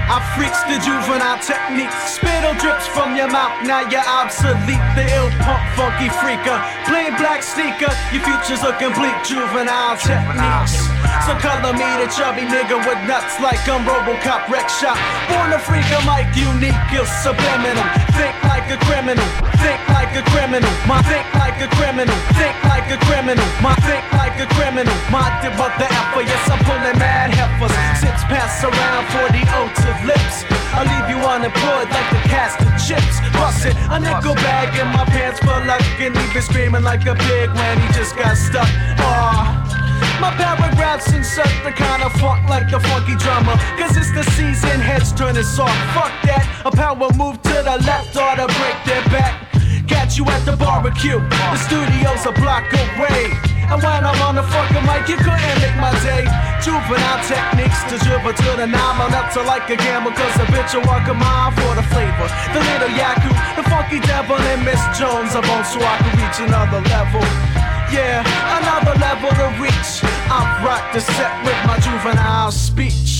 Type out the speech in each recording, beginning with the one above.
I freaks the juvenile techniques. Spittle drips from your mouth, now you're obsolete. The ill punk funky freaker, plain black sneaker. Your future's looking bleak, juvenile techniques. So color me the chubby nigga with nuts like I'm Robocop wreck shop. Born a freak, I'm like unique, you're subliminal. Think like a criminal, think like a criminal. My think like a criminal, think like a criminal. My think like a criminal. My debut the effort, yes I'm pulling mad heifers. Sips pass around 40 to lips. I'll leave you unemployed like the cast of chips. Bust it, a nickel bag in my pants for luck. And he been screaming like a pig when he just got stuck. My paragraphs insert the kind of funk like the funky drummer. Cause it's the season, heads turning soft. Fuck that, a power move to the left or to break their back. Catch you at the barbecue, the studio's a block away. And when I'm on the fucking mic, you couldn't make my day. Juvenile techniques to dribble to the nine. I'm up to like a gamble, cause a bitch will walk a mile for the flavor. The little Yaku, the funky devil, and Miss Jones. I'm on so I can reach another level. Yeah, another level to reach. I rock the set with my juvenile speech.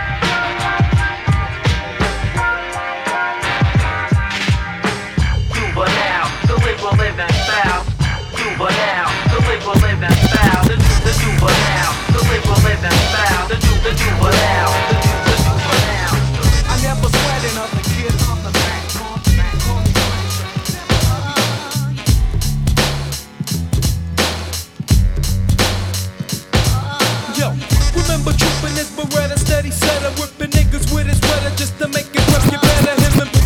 Juvenile, the liberal living foul. Juvenile, the liberal living foul. The juvenile, the liberal living foul. The juvenile, the juvenile. I never sweat another kid on the back. Yo, remember trooping his Beretta, steady setter, whipping niggas with his sweater just to make it rough, get better. Him and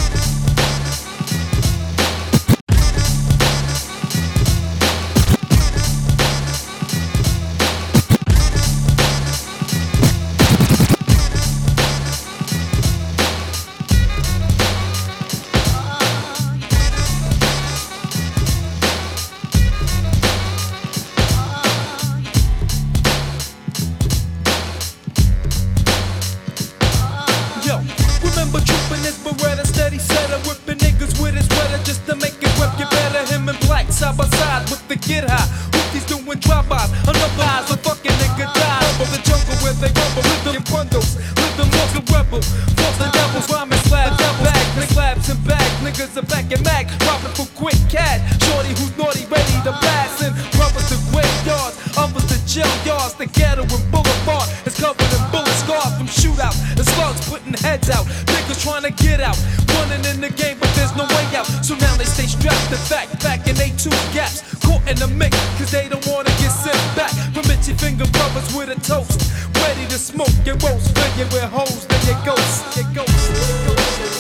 side by side with the get high. Hookies doing drive-bys, another eyes, a fucking nigga die. From the jungle where they rumble, rhythm in bundles, rhythm like a rebel. False the devils, rhyming slabs, down back, slabs and bags, niggas are back and mag, robbing for quick cash. Shorty who's naughty, ready to blast, and brothers to graveyards, others to jail yards. The ghetto and boulevard is covered in bullet scars from shootouts and slugs putting heads out. Niggas trying to get out, running in the game, but there's no way out. So now they stay strapped to back in they two gaps, caught in the mix, cause they don't wanna get sent back from itchy finger brothers with a toast, ready to smoke and roast, fill you with hoes, then you ghost, you ghost.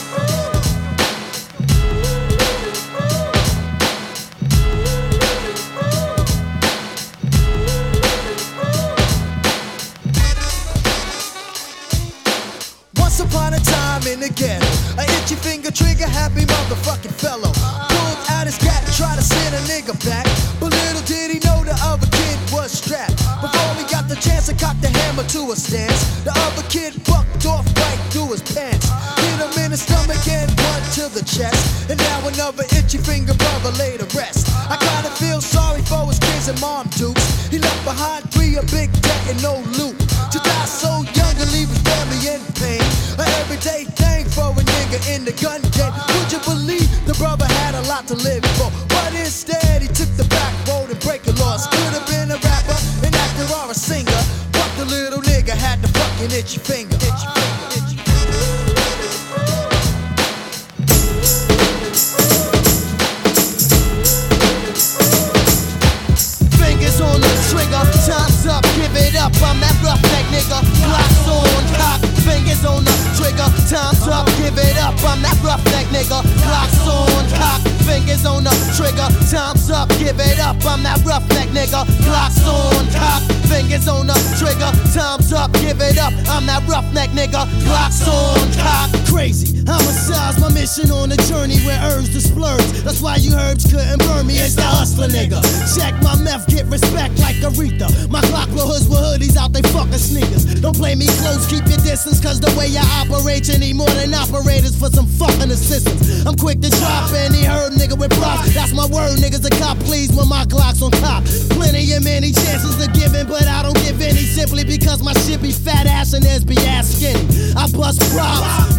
Upon a time in the ghetto, a itchy finger trigger happy motherfucking fellow pulled out his gat and tried to send a nigga back, but little did he know the other kid was strapped. Before he got the chance to cock the hammer to a stance, the other kid bucked off right through his pants, hit him in the stomach and one to the chest, and now another itchy finger brother laid to rest. I kinda feel sorry for his kids and mom dukes. He left behind 3 a big debt and no loot, to die so young and leave his family in pain. An everyday thing for a nigga in the gun game. Would you believe the brother had a lot to live for? But instead he took the back road and breaking laws. Could have been a rapper, an actor or a singer, but the little nigga had the fucking itchy finger. Itchy finger, itchy fingers on the trigger, time's up, give it up. I'm that roughneck nigga, blocks on cock. Fingers on the trigger, time's up, give it up. I'm that roughneck nigga, clocks on cock. Fingers on the trigger, time's up, give it up. I'm that roughneck nigga, clocks on cock. Fingers on the trigger, time's up, give it up. I'm that roughneck nigga, clocks on cock. Crazy, homicide's my mission on a journey where herbs to splurge. That's why you herbs couldn't burn me, it's the hustler nigga. Check my meth, get respect like Aretha. My clock blow hoods with hoodies out, they fucking sneakers. Don't play me close, keep your distance, cause the way I operate, you need more than operators for some fucking assistance. I'm quick to drop any herb nigga with props. That's my word, niggas. The cop please when my Glock's on top. Plenty and many chances to give in, but I don't give any simply because my shit be fat ass and theirs be ass skinny. I bust props,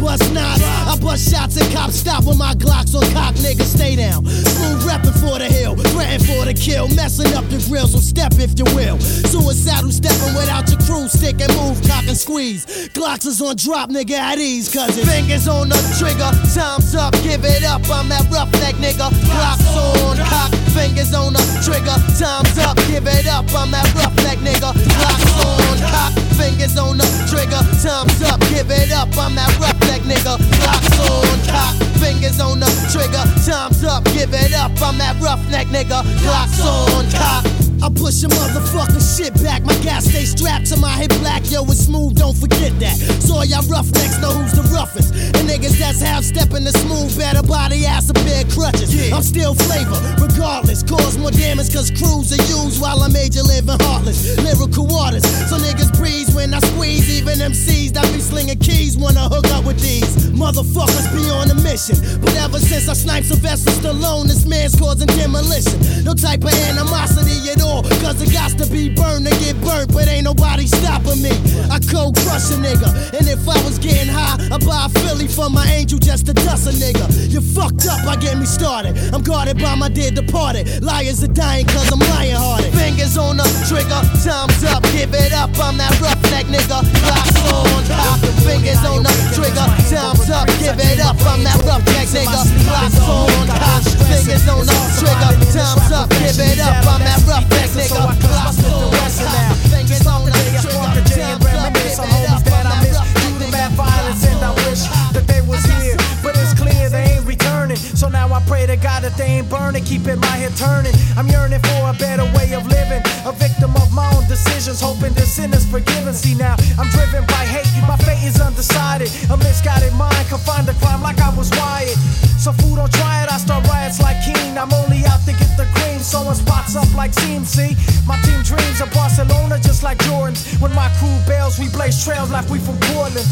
bust knots. I bust shots and cops stop with my Glocks on cock, nigga, stay down. Smooth reppin' for the hill, threatin' for the kill, messing up the grill, so step if you will. Suicidal steppin' without your crew, stick and move, cock and squeeze. Glocks is on drop, nigga, at ease, cause it's fingers on the trigger, time's up, give it up, I'm that roughneck nigga. Glocks on cock, fingers on the trigger, time's up, give it up, I'm that roughneck nigga. Glocks on cock, fingers on the trigger, time's up, give it up, I'm that roughneck nigga. Glocks on cock, fingers on the trigger, time's up, give it up, I'm that roughneck nigga. Glocks on cock. I push a motherfucking shit back. My gas stay strapped to my hip black. Yo, it's smooth, don't forget that. So all y'all roughnecks know who's the roughest. And niggas that's half stepping the smooth better body ass a pair of crutches. Yeah. I'm still flavor, regardless. Cause more damage cause crews are used while I made you living heartless. Lyrical waters, so niggas breeze when I squeeze. Even MCs that be slinging keys wanna hook up with these motherfuckers be on a mission. But ever since I sniped Sylvester Stallone, this man's causing demolition. No type of animosity at all. Cause it got to be burned and get burnt, but ain't nobody stopping me. I cold crush a nigga, and if I was getting high, I'd buy a Philly for my angel just to dust a nigga. You fucked up, I get me started. I'm guarded by my dear departed. Liars are dying cause I'm lying hearted. Fingers on the trigger, time's up, give it up, I'm that roughneck nigga. Glocks on top, fingers on the trigger, time's up, give it up, I'm that roughneck nigga. Glocks on top, fingers on the trigger, time's up, give it up, I'm that roughneck nigga. So I split the rest now. Just off the day I spark a J and reminisce on homies that I miss. Due to mad violence and I wish that they was here, but it's clear they ain't returning. So now I pray to God that they ain't burning, keeping my head turning. I'm yearning for a better way of living, a victim of my own decisions, hoping the sin is forgiven. See now I'm driven by hate, my fate is undecided. A misguided mind confined to crime like I was wired. So fool, don't try it, I start riots like Keen. I'm only out to get the cream, sewing spots up like CMC. My team dreams of Barcelona just like Jordan's. When my crew bails, we blaze trails like we from Portland.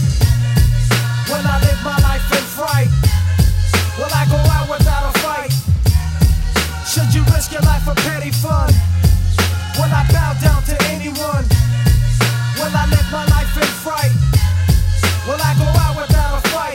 When I live my life in fright, will I go out without a fight? Should you risk your life for petty fun? Will I bow down to anyone? Will I live my life in fright? Will I go out without a fight?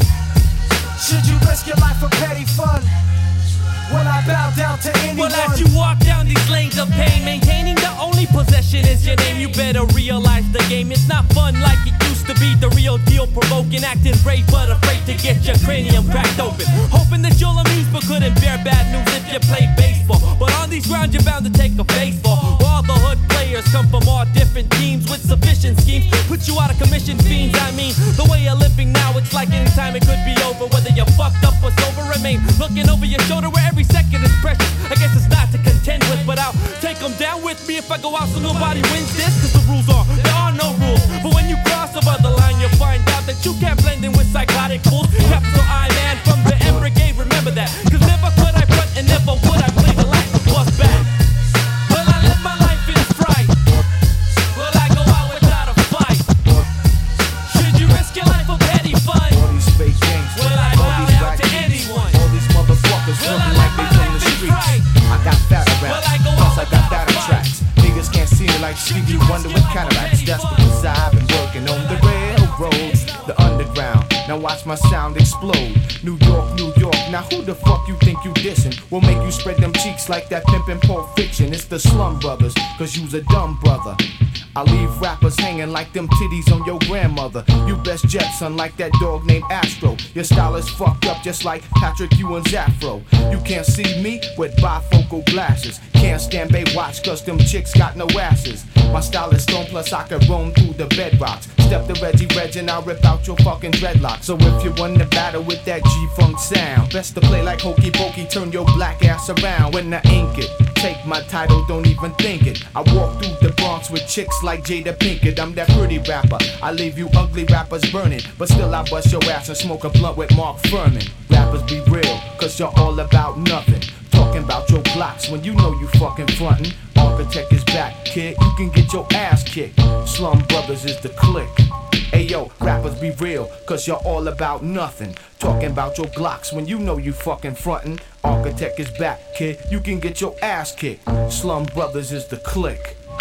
Should you risk your life for petty fun? Will I bow down to anyone? Well, as you walk down these lanes of pain, maintaining the only possession is your name. You better realize the game is not fun like it used to be. The real deal, provoking, acting brave but afraid to get your cranium cracked open. Hoping that you'll amuse but couldn't bear bad news if you play baseball. But on these grounds you're bound to take a baseball. All the hood players come from all different teams with sufficient schemes. Put you out of commission, fiends. I mean, the way you're living now, it's like anytime it could be over. Whether you're fucked up or sober, remain looking over your shoulder where every second is precious. I guess it's not to contend with, but I'll take them down with me if I go out so nobody wins this. Cause the rules are, there are no rules. But when you cross over the line, you'll find out that you can't blend in with psychotic fools. Capital I man from the M Brigade, remember that. Cause never could I front and never would I play the life of bust back. Will I live my life in fright? Will I go out without a fight? Should you risk your life for petty fun? All these fake games, Will I bow down to anyone? all these motherfuckers Will looking I like live they my from the life in streets. fright? I got fat around, Will I go plus out I got without that a fight? tracks. Niggas can't see me like Stevie Wonder with cataracts. That's because I've been working on the railroads, the underground. Now watch my sound explode. New York, New York. Now who the fuck you think you dissing? Will make you spread them cheeks like that pimpin' Pulp Fiction. It's the Slum Brothers, cause you's a dumb brother. I leave rappers hanging like them titties on your grandmother. You best jet, son, like that dog named Astro. Your style is fucked up just like Patrick Ewing's afro. You can't see me with bifocal glasses. Can't stand Baywatch cause them chicks got no asses. My style is stone plus I can roam through the bedrocks. Step to Reggie Reg and I'll rip out your fucking dreadlocks. So if you won the battle with that G-Funk sound, best to play like Hokey Pokey, turn your black ass around. When I ink it, take my title, don't even think it. I walk through the Bronx with chicks like Jada Pinkett. I'm that pretty rapper, I leave you ugly rappers burning. But still I bust your ass and smoke a blunt with Mark Furman. Rappers be real, cause you're all about nothing. Talking about your Glocks when you know you fucking frontin'. Architect is back, kid, you can get your ass kicked. Slum Brothers is the clique. Ayo, rappers be real, cause you're all about nothing. Talking about your Glocks when you know you fucking frontin'. Architect is back, kid, you can get your ass kicked. Slum Brothers is the clique.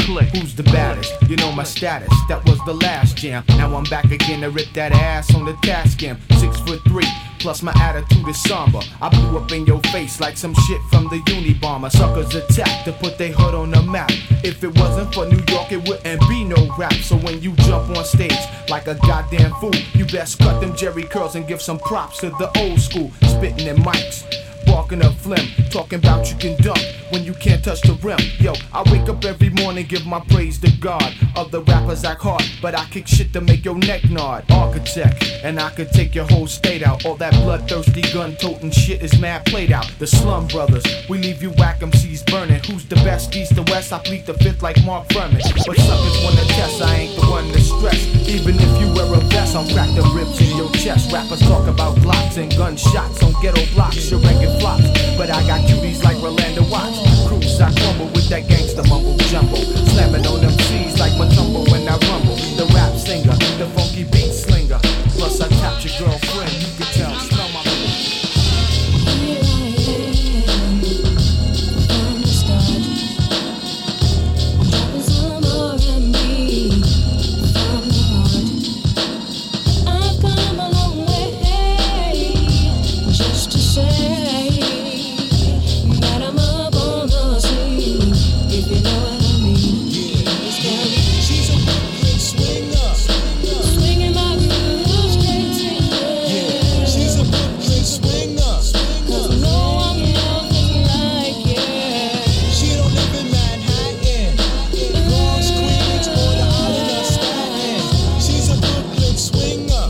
click. Who's the baddest? You know my status. That was the last jam. Now I'm back again to rip that ass on the task cam. 6'3", plus my attitude is somber. I blew up in your face like some shit from the Unabomber. Suckers attack to put their hood on the map. If it wasn't for New York, it wouldn't be no rap. So when you jump on stage like a goddamn fool, you best cut them Jerry curls and give some props to the old school. Spitting in mics, barking up phlegm, talking about you can dunk when you can't touch the rim. Yo, I wake up every morning, give my praise to God. Other rappers act hard, but I kick shit to make your neck nod. Architect, and I could take your whole state out. All that bloodthirsty gun-toting shit is mad played out. The Slum Brothers, we leave you whack MCs burning. Who's the best, east to west? I plead the fifth like Mark Furman. But suckers wanna test, I ain't the one to stress. Even if you wear a vest, I'll crack the ribs in your chest. Rappers talk about blocks and gunshots on ghetto blocks. Your record flops, but I got cuties like Rolando Watts. Crews I crumble with that gangsta mumble jumbo. Slamming on them C's like Matumbo when I rumble. The rap singer, the funky beat slinger. Plus I tapped your girlfriend, you can tell, smell my Here I am, from the start. I'm dropping some R&B from the heart. I've come a long way just to say that I'm up on the scene, if you know what I mean. She's a Brooklyn swinger. Swinging my groove straight to you. She's a Brooklyn swinger. 'Cause no one nothing like you. She don't live in Manhattan, Bronx, Queens, or the island of Staten. She's a Brooklyn swinger.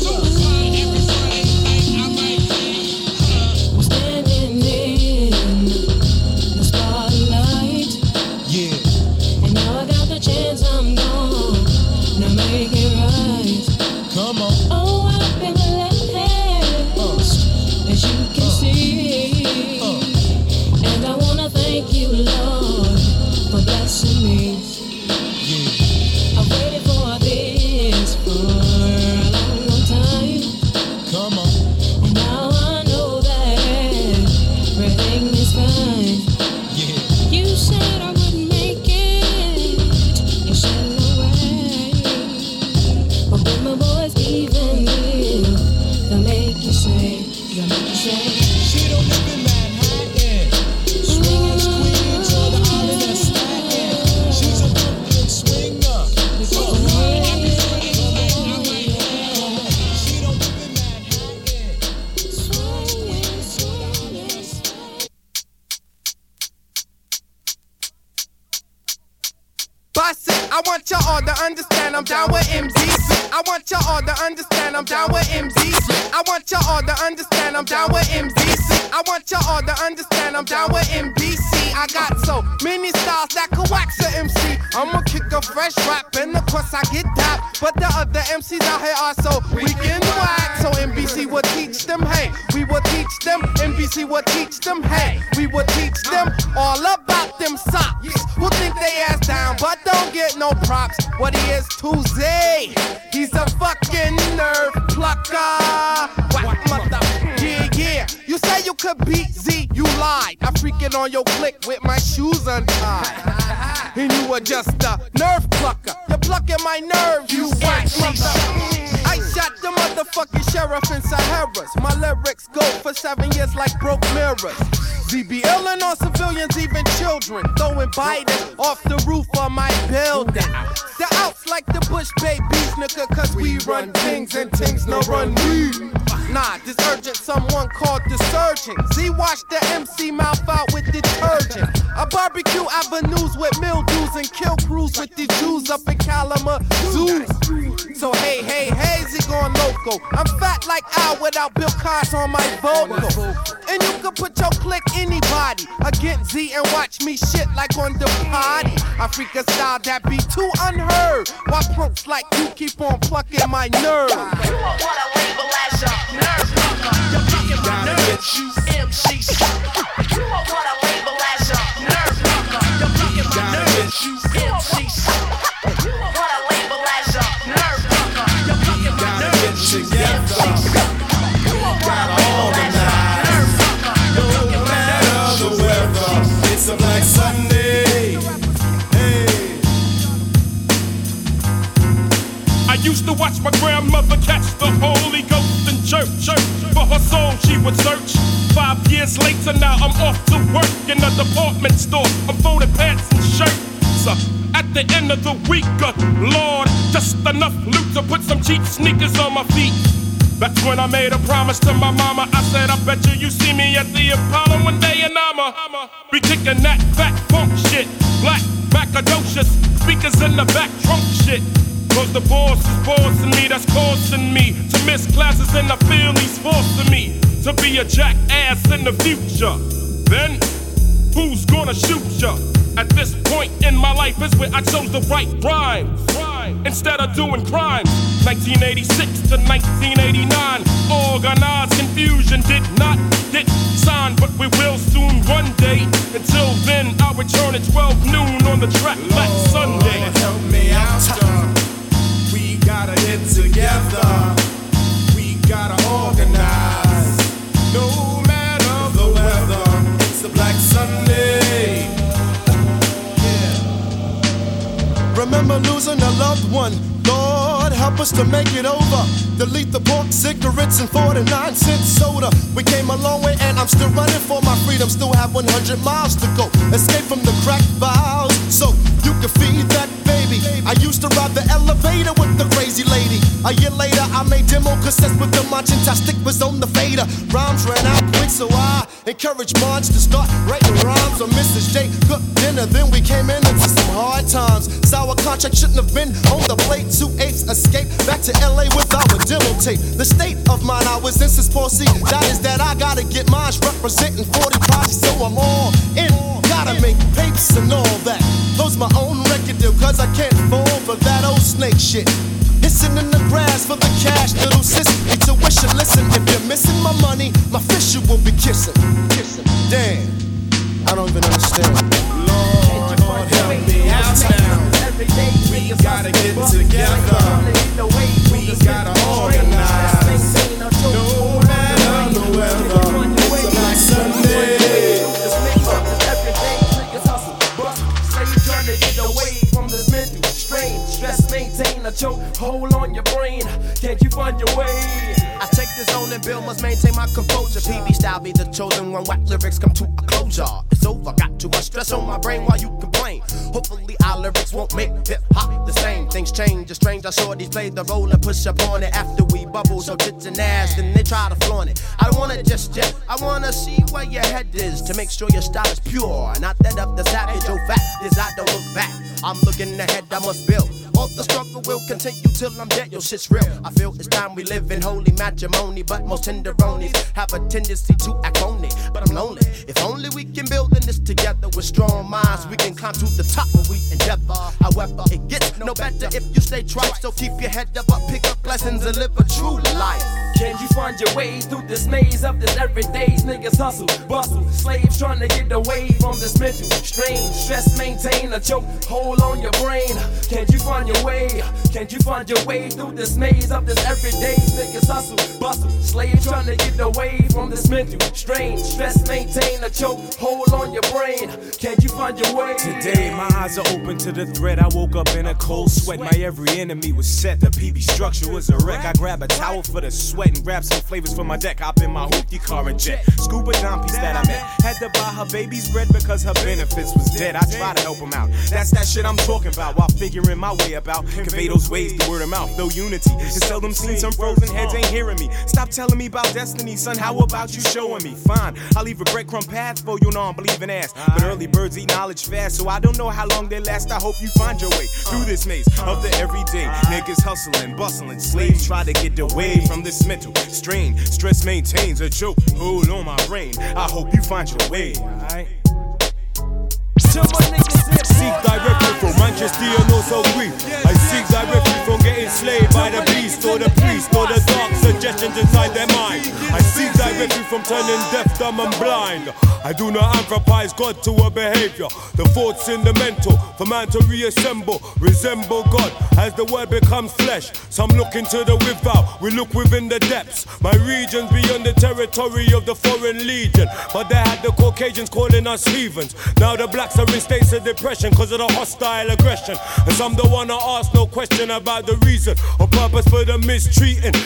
I'm standing in the spotlight, Yeah, and now I got the chance. I'm gone. Now make it right. come on. Oh, I've been blessed, as you can see, and I wanna thank you, Lord, for blessing me. I've waited for this for a long, long time, Come on. and now I know that everything is fine. Yeah, You said I wouldn't make it, you said no way, but when my boys even will, they'll make you say, she don't live in Manhattan, Bronx, Queens, or the island of Staten. She's a Brooklyn swinger. She don't live in Manhattan. Bust it, I want y'all to understand I'm down with MDC. I want y'all to understand I'm down with MDC. I want y'all to understand I'm down with MDC. I want y'all to understand I'm down with MDC. I got so many styles that could wax a MC. I'ma kick a fresh rap and of course I get that. But the other MCs out here are so weak and whack. So NBC will teach them, hey, we will teach them. NBC will teach them, hey, we will teach them all about them socks. Who think they ass down but don't get no props? What he is, Tuesday, he's a fucking nerve plucker. What mother? Yeah, yeah. You say you could beat Z, you lied. I freaking on your click with my shoes untied. And you were just a nerve plucker. You're plucking my nerves, you whack mother. I shot the motherfucking sheriff in Sahara's. My lyrics go for 7 years like broke mirrors. ZB illin' on civilians, even children. Throwing Biden off the roof of my building. The outs like the Bush babies, nigga, cause we run things and things no run we. Nah, this urgent, someone called the surgeon. Z wash the MC mouth out with detergent. I barbecue avenues with mildews and kill crews with the Jews up in Kalamazoo. So hey, hey, hey, Z going loco. I'm fat like Al without Bill Cos on my vocal. And you can put your click anybody against Z and watch me shit like on the potty. I freak a style that be too unheard. Why punks like you keep on plucking my nerves? You won't wanna label as a nerve plucker. You're plucking my nerves, you MCs. You won't wanna label as a nerve plucker. You're plucking my nerves, you MCs. You won't wanna label as a nerve plucker. You're plucking my nerves, you MCs. You won't wanna label as a nerve plucker. You're plucking my nerves, you MCs. It's a Black Sunday. Hey, church. For her soul she would search. 5 years later now I'm off to work in a department store. I'm folding pants and shirts. At the end of the week, Lord, just enough loot to put some cheap sneakers on my feet. That's when I made a promise to my mama. I said, I bet you see me at the Apollo one day, and I'ma be kicking that fat funk shit. Black, macadocious, speakers in the back trunk shit. Cause the boss is bossing me, that's causing me to miss classes, and I feel he's forcing me to be a jackass in the future. Then, who's gonna shoot ya? At this point in my life is where I chose to write rhymes instead of doing crimes. 1986 to 1989, organized confusion did not get signed, but we will soon one day. Until then, I'll return at 12 noon on the track that Sunday. Help me out, we gotta get together. We gotta organize. No matter the weather, it's a Black Sunday. Remember losing a loved one. Lord, help us to make it over. Delete the pork, cigarettes, and 49-cent soda. We came a long way and I'm still running for my freedom. Still have 100 miles to go. Escape from the crack vials so you can feed that baby. I used to ride the elevator with the crazy lady. A year later, I made demo cassettes with the Manchastic was on the fader. Rhymes ran out quick, so I encouraged Marge to start writing rhymes on Mrs. J. Cooked dinner, then we came in into some hard times. Sour contract shouldn't have been on the plate. 2/8 escape back to LA with our demo tape. The state of mind I was in since 4C. That is that I gotta get mine representing 40 projects, so I'm all in. Gotta make papes and all that. Close my own record deal, cause I can't fall for that old snake shit. Hissing in the grass for the cash, little sis. Intuition, listen, if you're missing my money, my fish you will be kissing. Damn, I don't even understand. Lord, help me out now. We gotta get together. We gotta organize. No matter the weather, it's a Black Sunday. Stress, maintain a choke, hold on your brain. Can't you find your way? I take this on and Bill must maintain my composure. PB style be the chosen one. Whack lyrics come to a closure. It's over, got too much stress on my brain while you complain. Hopefully our lyrics won't make hip hop the same. Things change, it's strange. I saw these play the role and push up on it after we bubble. So tits and ass, then they try to flaunt it. I don't want it just yet. I wanna see where your head is to make sure your style is pure. Not that of the savage. Oh, fact is I don't look back. I'm looking ahead, I must build. All the struggle will continue till I'm dead, yo, shit's real. I feel it's time we live in holy matrimony, but most tenderonies have a tendency to act phony. But I'm lonely. If only we can build in this together with strong minds, we can climb to the top when we endeavor. However, it gets no better if you stay tripe. So keep your head up, pick up blessings and live a true life. Can you find your way through this maze of this everyday's niggas hustle, bustle, slaves trying to get away from this mental strain. Stress, maintain a choke, hold on your brain. Can't you find your way? Can't you find your way through this maze of this everyday's niggas hustle, bustle, slaves trying to get away from this mental strain. Stress, maintain a choke, hold on your brain. Can't you find your way? Today my eyes are open to the threat. I woke up in a cold sweat. My every enemy was set. The PB structure was a wreck. I grab a towel for the sweat and grab some flavors for my deck. Hop in my hoopty car and jet. Scuba Dom piece that I met. Had to buy her baby's bread because her benefits was dead. I try to help him out. That's that shit I'm talking about while figuring my way about. Convey those ways through word of mouth. No unity. It's seldom seen. Some frozen heads ain't hearing me. Stop telling me about destiny, son. How about you showing me? Fine. I'll leave a breadcrumb path for you non-believing ass. But early birds eat knowledge fast, so I don't know how long they last. I hope you find your way through this maze of the everyday. Niggas hustling, bustling. Slaves try to get away from this mental strain. Stress maintains a choke. Hold on my brain. I hope you find your way. Alright. Seek directly from Manchester and also grief. I seek directly from getting slayed by the beast or the priest or the dark suggestions inside their mind. I seek directly from turning deaf, dumb and blind. I do not anthropize God to a behavior. The thoughts in the mental for man to reassemble, resemble God as the word becomes flesh. Some look into the without, we look within the depths. My region's beyond the territory of the foreign legion, but they had the Caucasians calling us heathens. Now the blacks are in states of depression cause of the hostile aggression, and some don't wanna ask no question about the reason or purpose for the mistreating. The physical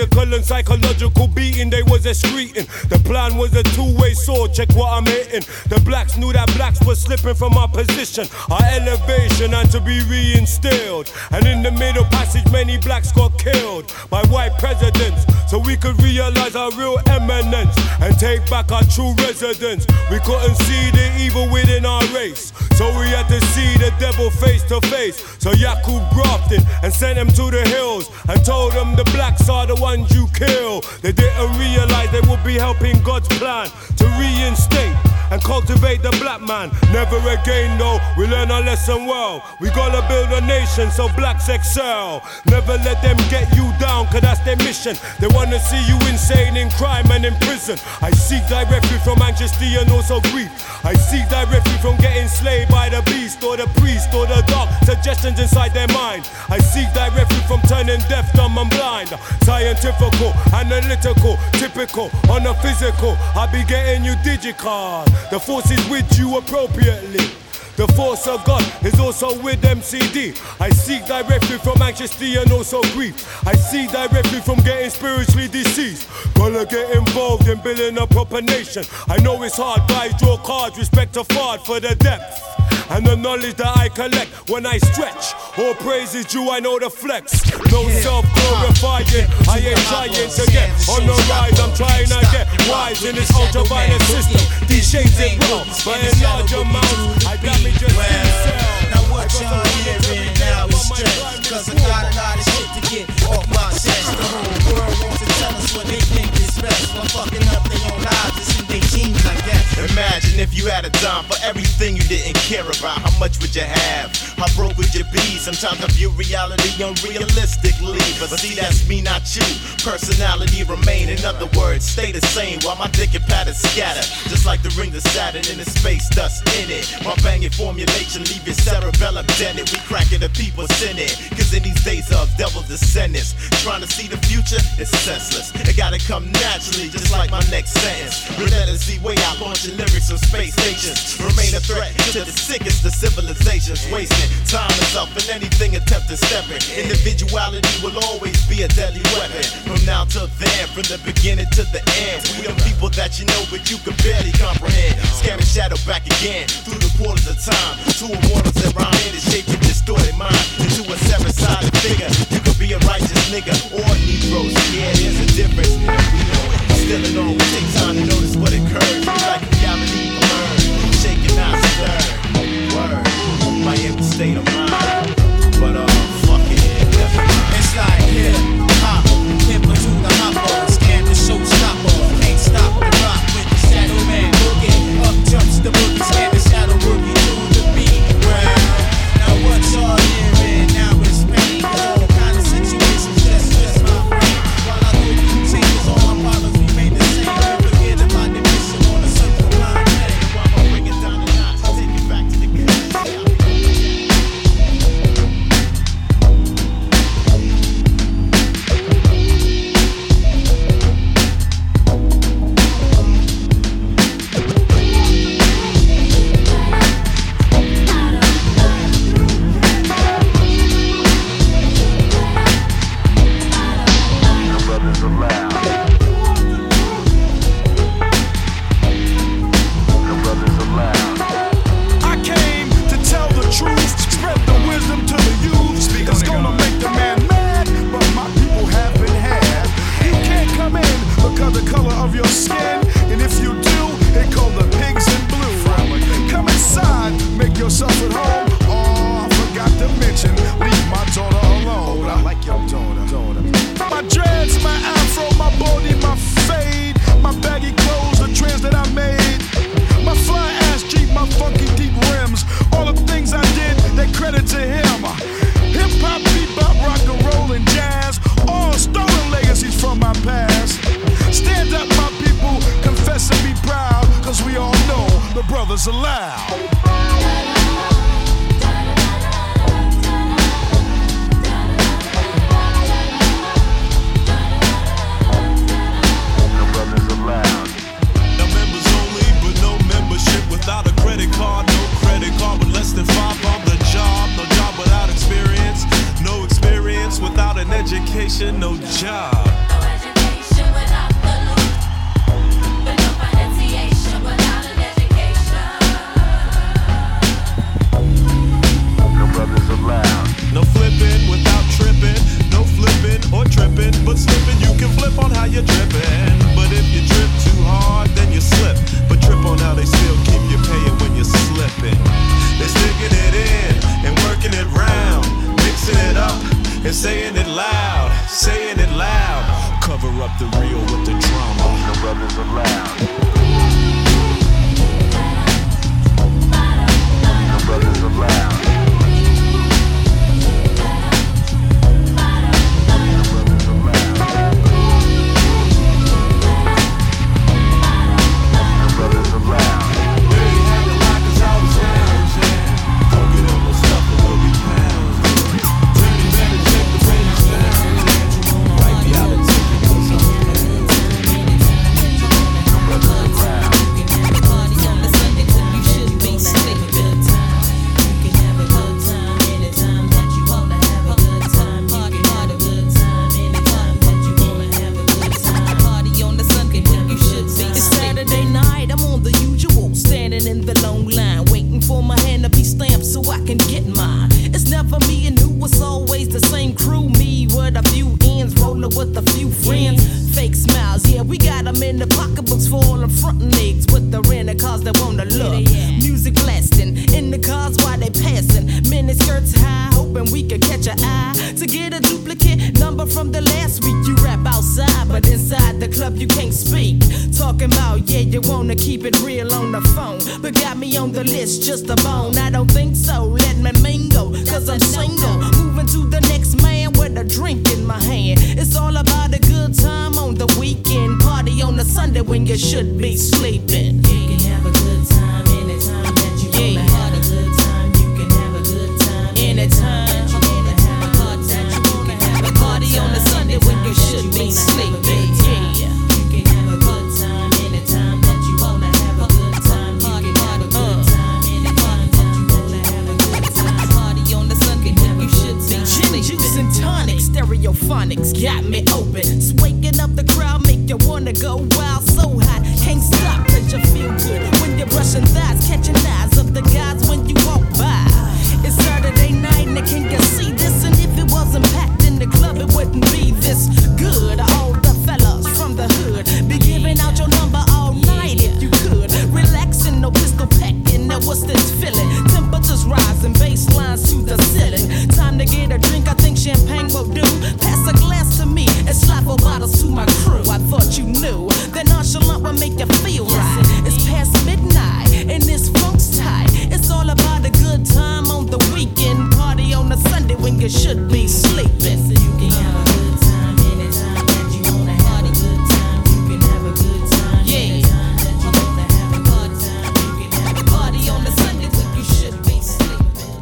physical and psychological beating they was excreting. The plan was a two-way sword, check what I'm hitting. The blacks knew that blacks were slipping from our position, our elevation and to be reinstilled. And in the middle passage many blacks got killed by white presidents, so we could realize our real eminence and take back our true residence. We couldn't see the evil within our race, so we had to see the devil face to face. So Yakub grafted and sent them to the hills and told them the blacks are the ones you kill. They didn't realize they would be helping God's plan to reinstate and cultivate the black man. Never again though, we learn our lesson well. We gotta build a nation so blacks excel. Never let them get you down, cause that's their mission. They wanna see you insane in crime and in prison. I seek thy refuge from anxiety and also grief. I seek thy refuge from getting slayed by the beast or the priest or the dark suggestions inside their mind. I seek thy refuge from turning deaf, dumb and blind. Scientifical, analytical, typical, on a physical. I be getting you digicard. The force is with you appropriately. The force of God is also with MCD. I seek thy refuge from anxiety and also grief. I seek thy refuge from getting spiritually deceased. Gonna get involved in building a proper nation. I know it's hard, but I draw cards, respect a fard for the depth and the knowledge that I collect when I stretch. All praise is due, I know the flex. No self-glorifying, I ain't trying to get on the rise. I'm trying to get wise in this ultraviolet system. These shades it well, but in large amounts, I damage your skin cell. Now what y'all hearing now is stress, cause I got a lot of shit to get off my chest. The whole world wants to tell us what they think is best, while fucking up their own lives and see they genes, I guess. Imagine if you had a dime for everything you didn't care about. How much would you have? How broke would you be? Sometimes I view reality unrealistically, but see that's me, not you. Personality remain, in other words, stay the same while my dick and pattern scatter. Just like the ring of Saturn in the space dust in it. My banging formulation leave your cerebellum dented. We cracking the people sinning, cause in these days of devil descendants, trying to see the future is senseless. It gotta come naturally, just like my next sentence. Relentlessly way out launching lyrics from space stations. Remain a threat to the sickest of civilizations. Wasting time is up and anything attempting stepping. Individuality will always be a deadly weapon. From now to then, from the beginning to the end. We the people that you know but you can barely comprehend. Scamming shadow back again through the portals of time. Two immortals that rhyme in the shape your distorted mind into a seven-sided figure. You could be a righteous nigga or a Negro. Yeah, there's a difference. And we know it. Still it always take time to notice what occurs. Like reality emerge, shaking out stir. Word, my empty state of mind. But fuck it. It's like hip hop, hip to the hopper, scan the showstopper. Ain't stop the rock with the shadow man boogie. Up jumps the boogie, scan the shadow boogie to the beat. Well, now what y'all hearing now is pain. All kind of situations just stress my brain. While I go through changes, all my problems remain the same. Forget about the mission on a circle line. While I bring it down the notch, take it back to the good. Brothers Aloud. Without a credit card, no credit card with less than 5 on the job. No job without experience, no experience without an education, no job. Cover up the real with the drama. No brothers allowed. No brothers allowed. Just a bone, I don't think so. Let me mingle, cause I'm single. Moving to the next man with a drink in my hand. It's all about a good time on the weekend. Party on a Sunday when you should be sleeping. You can have a good time anytime that you wanna have a good time. You can have a good time anytime that you wanna have a good time. You wanna have a party on a Sunday when you should be sleeping. Yeah. You can have a good time anytime that you wanna have a good time. You can have a good time. Juice and tonic, stereophonics got me open. It's waking up the crowd, make you wanna go wild. So hot, can't stop cause you feel good. When you're brushing thighs, catching eyes of the guys when you walk by. It's Saturday night and can you see this? And if it wasn't packed in the club, it wouldn't be this good. All the fellas from the hood be giving out your number all night if you could. Relaxing, no pistol packing, now what's this feeling? Temperatures rising, bass lines to the ceiling. Time to get a drink, I think champagne will do. Pass a glass to me and slap 4 bottles to my crew. I thought you knew that nonchalant would make you feel right. It's past midnight and this funk's tight. It's all about a good time on the weekend. Party on a Sunday when you should be sleeping. So you can have a good time anytime that you wanna have a good time. You can have a good time anytime that you wanna have a good time. You can have a party on a Sunday when you should be sleeping.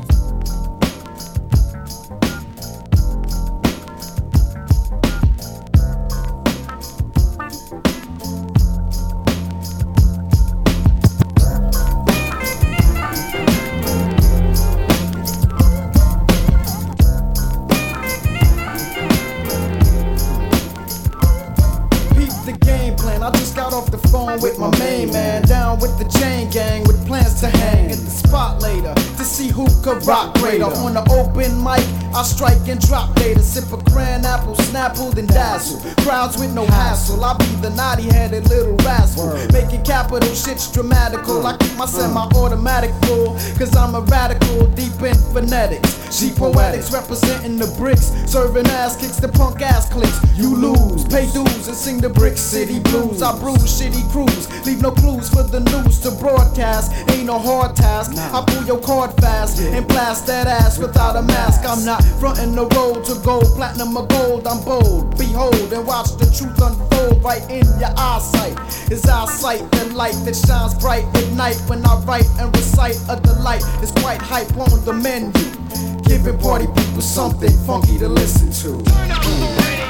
With my main man, down with the chain gang, with plans to hang at the spot later to see who could rock greater. On the open mic, I strike and drop later. Sip a cran apple, snapple, then dazzle. Crowds with no hassle. I be the naughty-headed little rascal, making capital shits dramatical. I keep my semi-automatic full, cause I'm a radical, deep in phonetics. She poetics, representing the bricks, serving ass kicks the punk ass clicks. You lose, pay dues and sing the Brick City blues. I bruise shitty crews, leave no clues for the news to broadcast. Ain't no hard task. I pull your card fast and blast that ass without a mask. I'm not frontin' the road to gold, platinum or gold. I'm bold. Behold and watch the truth unfold right in your eyesight. It's eyesight, the light that shines bright at night. When I write and recite a delight, it's quite hype on the menu, giving party people something funky to listen to. Turn up the radio.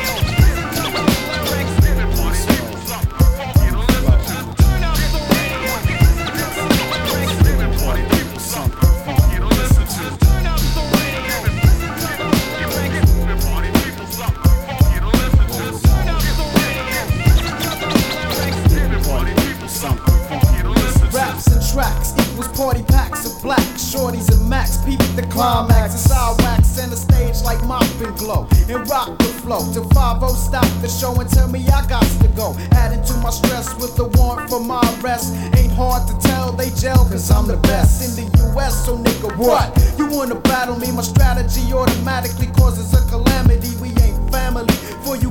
Party packs of black shorties and max. Peep the climax. It's our wax center stage like mop and glow and rock the flow. To 5-0 stop the show and tell me I got to go. Adding to my stress with the warrant for my arrest. Ain't hard to tell they gel cause I'm the best in the US. So nigga, what? You wanna battle me? My strategy automatically causes a calamity. We ain't family, for you couldn't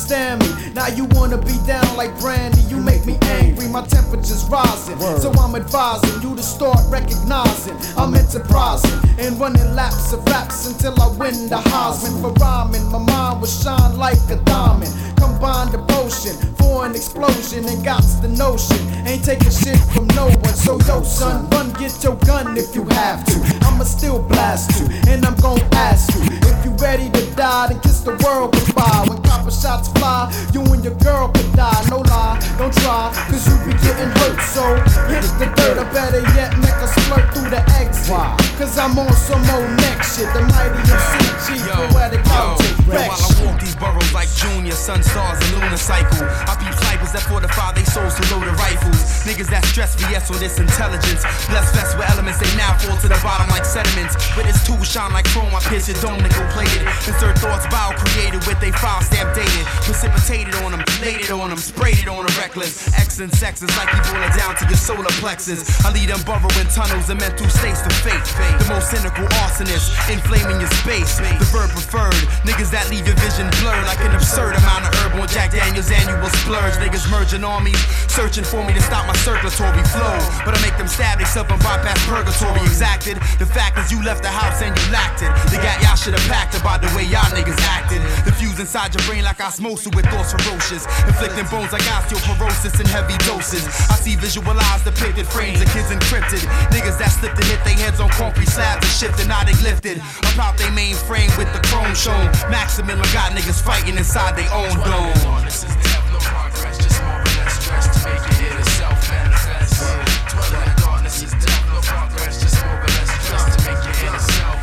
understand me. Now you wanna be down like Brandy, you make me angry, my temperature's rising. So I'm advising you to start recognizing I'm enterprising and running laps of raps until I win the Heisman for rhyming. My mind will shine like a diamond. Combine the potion for an explosion and got the notion. Ain't taking shit from no one. So yo son, run get your gun if you have to. I'ma still blast you and I'm gon' ask you if you ready to die, then kiss the world goodbye. When copper shots fly, you and your girl could die. No lie, don't try, cause you be getting hurt. So hit the dirt, or better yet, make us flirt through the exit. Cause I'm on some old next shit. The mighty MCG, poetic outtake. While I walk these boroughs like Junior, Sun Stars and Lunar Cycle, I peep snipers that fortify they souls to loaded rifles. Niggas that stress VS on this intelligence. Blessed vest with elements, they now fall to the bottom like sediments. With his tools shine like chrome, I pierce your dome, nickel plated. Insert thoughts bio-created with they file stamp dated. Precipitated on them, laid it on them, sprayed it on them reckless. X and sex is like you boil it down to your solar plexus. I lead them burrowing tunnels and mental states to fate. The most cynical arsonist, inflaming your space. The verb preferred, niggas that leave your vision blurred like an absurd amount of herb on Jack Daniels annual splurge. Niggas merging armies, searching for me to stop my circulatory flow. But I make them stab themselves and bypass purgatory exacted. The fact is you left the house and you lacked it. The gat y'all should have packed about the way y'all niggas acted. The fuse inside your brain like osmosis with thoughts ferocious. Inflicting bones like osteoporosis in heavy doses. I see visualized depicted frames of kids encrypted. Niggas that slipped and hit their heads on concrete slabs and shifted, now they lifted. About they mainframe with the chrome shown. Maximilian got niggas fighting inside their own dome. This is death, no progress, just more or less stress to make it in itself manifest. Dwelling in darkness is death, no progress, just more or less stress to make it in itself.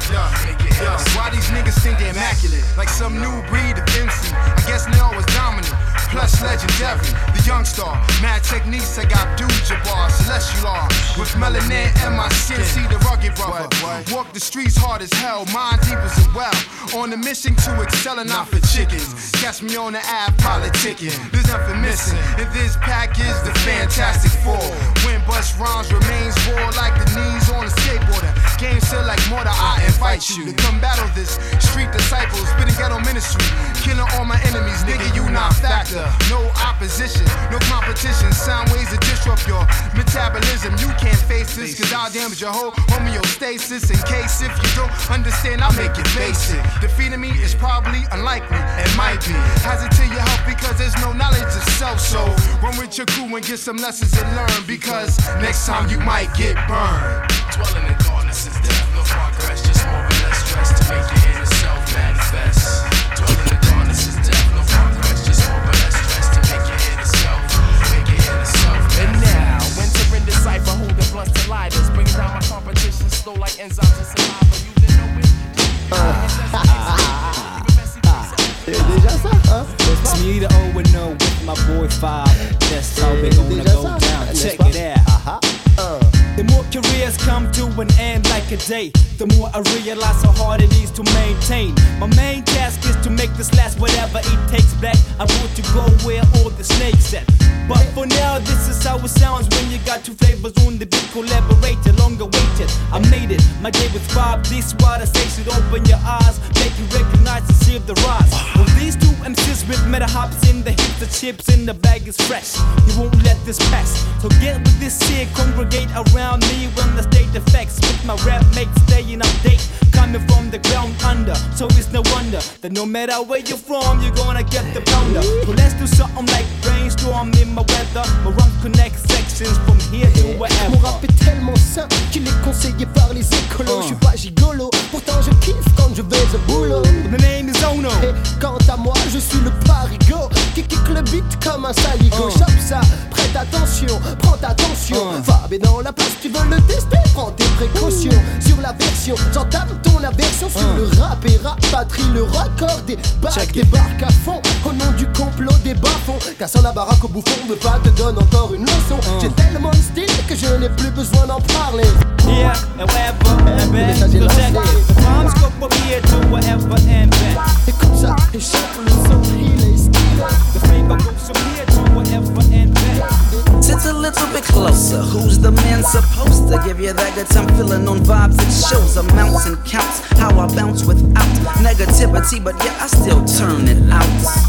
Why these niggas think they're immaculate? Like some new breed of MC. I guess Neo was dominant, plus legendary. The young star, mad techniques, I got Abdul Jabbar, Celestial R. With melanin and my skin, see the rugged brother. Walk the streets hard as hell, mind deep as a well. On a mission to excel and not for chickens. Catch me on the app, politicking. There's nothing missing. In this package, the Fantastic Four. When bust rhymes remains raw like the knees on a skateboarder. Game still like mortar, I invite you to come battle this. Street disciples, spitting ghetto ministry. Killing all my enemies, nigga, you not factor. No opposition, no competition. Sound ways to disrupt your metabolism. You can't face this, cause I'll damage your whole homeostasis. In case if you don't understand, I'll make it basic. Defeating me is probably unlikely, it might be. Hesitate your help because there's no knowledge of self. So run with your crew and get some lessons and learn, because next time you might get burned. Dwelling in darkness is death, no progress, just more or less stress to make it in itself manifest. Dwelling in darkness is death, no progress, just more or less stress to make it in itself, make it in itself. And now, entering the cipher, holding blunts to lighters, bringing down my competition slow like enzymes and saliva. You didn't know it. It's me, the O and O with my boy 5. That's how we gonna go down. Check it out. The more careers come to an end like a day, the more I realize how hard it is to maintain. My main task is to make this last whatever it takes back. I want to go where all the snakes at. But for now, this is how it sounds when you got two flavors on the beat, collaborated, longer waited. I made it, my day was Bob. This what I say should open your eyes, make you recognize and see the rise. Well, these two MCs with meta hops in the hips, the chips in the bag is fresh. You won't let this pass. So get with this shit, congregate around me when the state effects with my rap mates staying update. Coming from the ground under, so it's no wonder that no matter where you're from, you're gonna get the pounder. So let's do something like brainstorm in my weather. My rhymes connect sections from here to wherever. Mon rap est tellement sain qu'il est conseillé par les écolos. Je suis pas gigolo, pourtant je kiffe quand je vais au boulot. The name is Ono. Et quant à moi, je suis le parigo qui kick le beat comme un saligo. Chope ça, prête attention, prends attention. Fab est dans la place, tu veux le tester, prends tes précautions. Sur la version, j'entame ton aversion sur le rap et rap patrie, le record des bacs débarque à fond. Au nom du complot des bas-fonds, cassant la baraque au bouffon, veut pas te donne encore une leçon. J'ai tellement de style que je n'ai plus besoin d'en parler. Yeah, and wherever and back. So check it. The rhymes go from here to wherever and back. Écoute ça, et chante le son, il est stylé. The flavor goes from here to wherever and back. Sit a little bit closer. Who's the man supposed to give you that good time feeling on vibes? It shows amounts and counts how I bounce without negativity, but yeah, I still turn it out.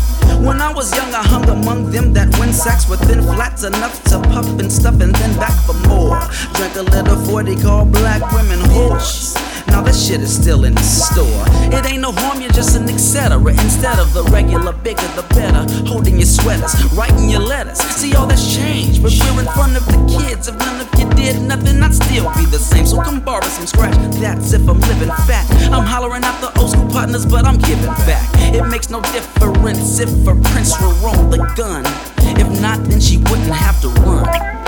When I was young, I hung among them that win sacks with thin flats enough to puff and stuff and then back for more. Drank a little 40 called black women whores. Now that shit is still in the store. It ain't no harm, you're just an etc. Instead of the regular, bigger the better. Holding your sweaters, writing your letters. See, all that's changed, but we're in front of the kids. If none of you did nothing, I'd still be the same. So come borrow some scratch, that's if I'm living fat. I'm hollering out the old school partners, but I'm giving back. It makes no difference if a prince will roll the gun. If not, then she wouldn't have to run.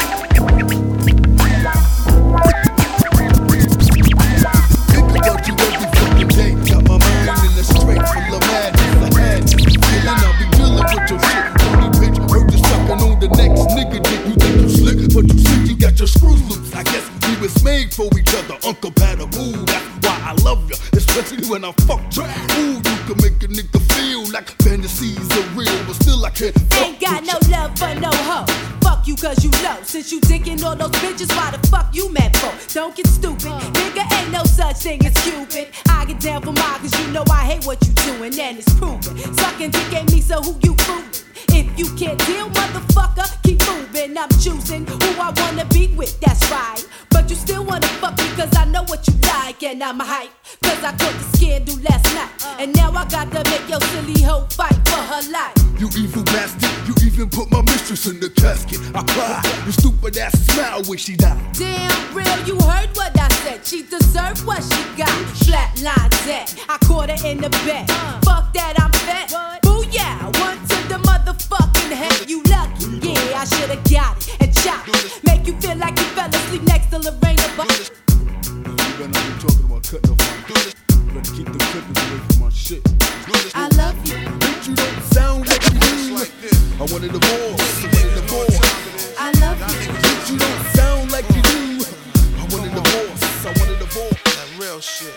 For each other, uncompatible. That's why I love you, especially when I fuck you. Ooh, you can make a nigga feel like fantasies are real, but still I can't fuck. Ain't got no love for no hoe. Fuck you cause you low. Since you taking all those bitches, why the fuck you mad for? Don't get stupid, nigga, ain't no such thing as Cupid. I get down for mine cause you know I hate what you doing and it's proven. Sucking dick ain't me, so who you fooling? If you can't deal, motherfucker, keep moving. I'm choosing who I wanna be with, that's right. But you still wanna fuck me cause I know what you like. And I'm hype cause I caught the scandal last night. And now I got to make your silly hoe fight for her life. You evil bastard, you even put my mistress in the casket. I cry, your stupid ass smile when she died. Damn real, you heard what I said. She deserved what she got. Flatline dead, I caught her in the bed. Fuck that, I'm fat. Booyah, one to the motherfucking head. You lucky, yeah, I should've got it and chopped it. Make you feel like you fell asleep next to Lorraine. You better not be talking about cutting off my dick. You better keep the clippers away from my shit. I love you. Bitch, you don't sound like you do. I wanted the divorce. I wanted the divorce. I love you. Bitch, you don't sound like you do. I wanted the divorce. I wanted the divorce. That real shit.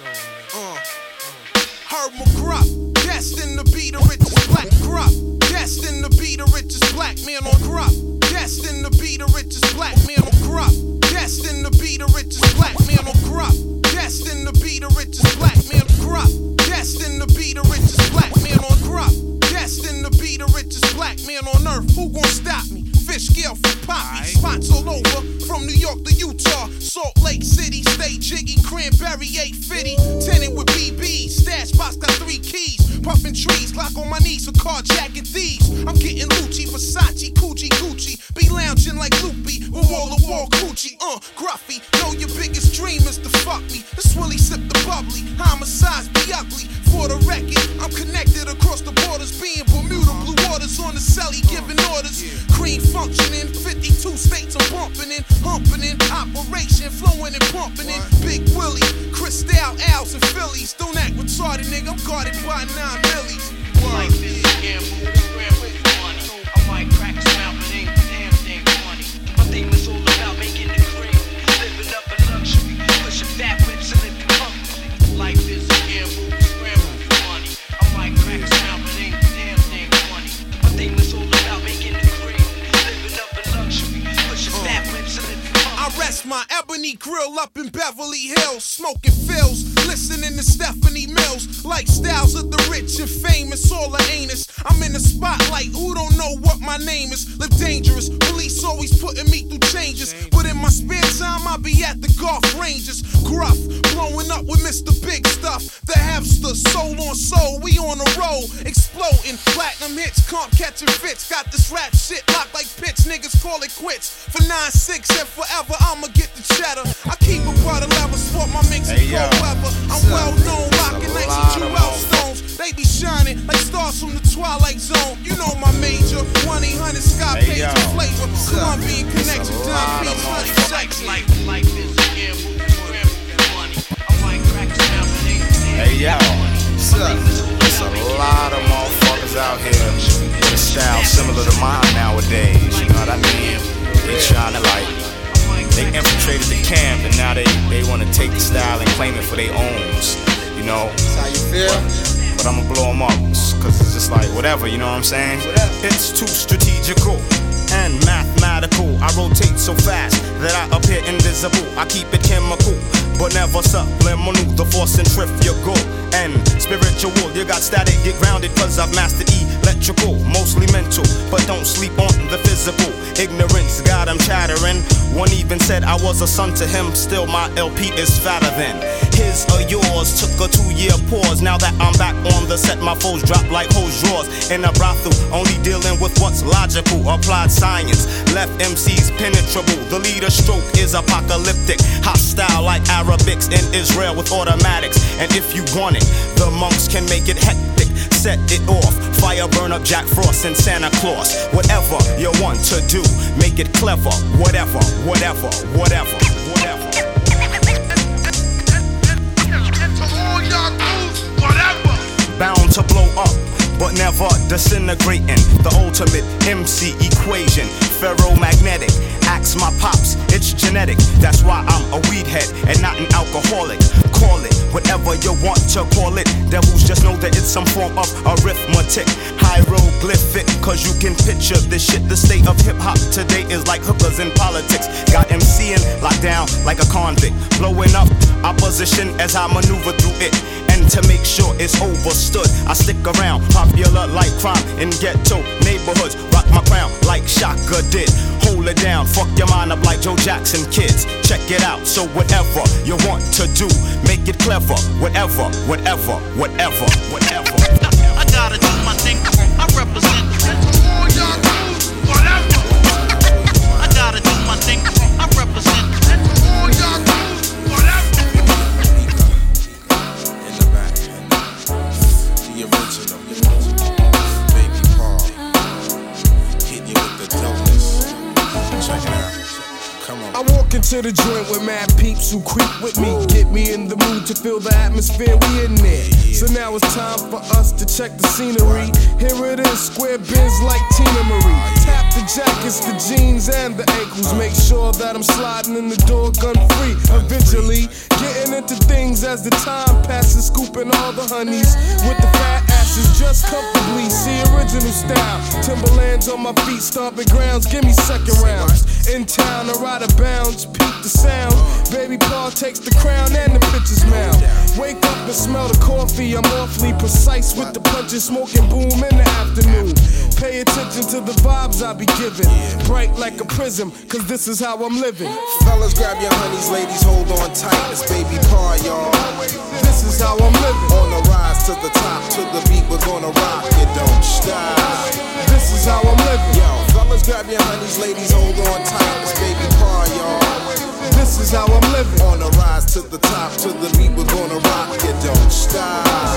Herb McGruff, destined to be the richest black gruff. Destined to be the richest black man on gruff. Destined to be the richest black man on gruff. Destined to be the richest black man on gruff. Destined to be the richest black man on gruff. Destined to be the richest black man on gruff. Destined to be the richest black man on earth. Who gon' stop me? Fish scale for poppy. Spots all over, from New York to Utah. Salt Lake City, stay jiggy. Cranberry 850. Tenant with BBs. Stash box got 3 keys. Puffin' trees, lock on my knees for carjacking thieves. I'm getting Lucci, Versace, Gucci, Gucci. Be lounging like Loopy with wall-to-wall coochie. Gruffy, know your biggest dream is to fuck me. This Willie sip the bubbly. Homicides be ugly. For the record, I'm connected across the borders. Being Bermuda, blue waters on the celly, giving orders. Cream functioning, 52 states I'm bumping in, humping in. Operation, flowing and pumping in. Big Willie, Cristal, Al's and Phillies. Don't act retarded, nigga. I'm guarded by 9 millies. Life is a gamble, scram with money. I might crack a smile, but ain't the damn thing funny. My theme is all about making it cream, living up in luxury, pushing fat whips and living comfortably. Life is a gamble, scram with money. I might crack a smile, but ain't the damn thing funny. My theme is all about making it cream, living up in luxury, pushing fat whips and living comfortably. I rest my ebony grill up in Beverly Hills, smoking fills, listening to Stephanie Mills. Lifestyles of the rich and famous, all the anus. I'm in the spotlight, who don't know what my name is? Live dangerous, police always putting me through changes. But in my spare time, I be at the golf ranges. Gruff, blowing up with Mr. Big Stuff. The Hefster, soul on soul, we on a roll. Exploding, platinum hits, comp catching fits. Got this rap shit locked like pitch, niggas call it quits. For 9-6 and forever, I'ma get the cheddar. I keep a butter level, sport my mix and cold weather. I'm well known, rocking 92 Stones. They be shining like stars from the Twilight Zone. You know my major, 1-800 Sky Page flavor. Colombian connection, Don Beach, honey, sex. Life is a gamble, scram with money. I might crack a smile, but ain't the damn Hey yo, there's a lot of motherfuckers out here with a style similar to mine nowadays. You know what I mean? They trying to they infiltrated the camp and now they want to take the style and claim it for their owns. You know? That's how you feel? But I'ma blow them up, cause it's just like whatever, you know what I'm saying? It's too strategical. and mathematical. I rotate so fast that I appear invisible. I keep it chemical, but never subliminal. The force centrifugal and spiritual. You got static, get grounded, cause I've mastered electrical. Mostly mental, but don't sleep on the physical. Ignorance got him chattering. One even said I was a son to him. Still my LP is fatter than his or yours. Took a 2-year pause. Now that I'm back on the set, my foes drop like hose drawers. In a brothel, only dealing with what's logical. Applied science left MCs penetrable. The leader stroke is apocalyptic. Hostile like Arabics in Israel with automatics. And if you want it, the monks can make it hectic. Set it off. Fire burn up Jack Frost and Santa Claus. Whatever you want to do, make it clever. Whatever, whatever, whatever, whatever. Bound to blow up, but never disintegrating. The ultimate MC equation. Ferromagnetic, ask my pops, it's genetic. That's why I'm a weed head and not an alcoholic. Call it whatever you want to call it. Devils just know that it's some form of arithmetic. Hieroglyphic, cause you can picture this shit. The state of hip hop today is like hookers in politics. Got MCing locked down like a convict. Blowing up opposition as I maneuver through it. And to make sure it's overstood, I stick around, popular like crime in ghetto neighborhoods. Rock my crown like Shaka did. Hold it down, fuck your mind up like Joe Jackson kids. Check it out, so whatever you want to do, make it clever. Whatever, whatever, whatever, whatever. I gotta do my thing, I represent. All y'all do, whatever. I gotta do my thing, I represent. All y'all do, whatever. In the back, the original, Baby Paul, hit you with the dopeness. Check it out. Come on. I walk into the joint with mad peeps who creep with me. Get me in the mood to feel the atmosphere, we in there. So now it's time for us to check the scenery. Here it is, square bins like Tina Marie. Tap the jackets, the jeans, and the ankles. Make sure that I'm sliding in the door gun free. Eventually, getting into things as the time passes. Scooping all the honeys with the fat asses just comfortably. See original style. Timberlands on my feet, stomping grounds. Give me second rounds. In town, I ride a bounce, peep the sound. Baby Paul takes the crown and the pitcher's mound. Wake up and smell the coffee. I'm awfully precise with the punches, smoking boom in the afternoon. Pay attention to the vibes I be giving. Bright like a prism, cause this is how I'm living. Fellas, grab your honeys, ladies, hold on tight. It's Baby Paul, y'all. This is how I'm living. On the rise to the top, to the beat, we're gonna rock it, don't stop. This is how I'm living. Yo, fellas, grab your honeys, ladies, hold on tight. It's Baby Paul, y'all. This is how I'm living. On the rise to the top, to the beat, we're gonna rock it, don't stop.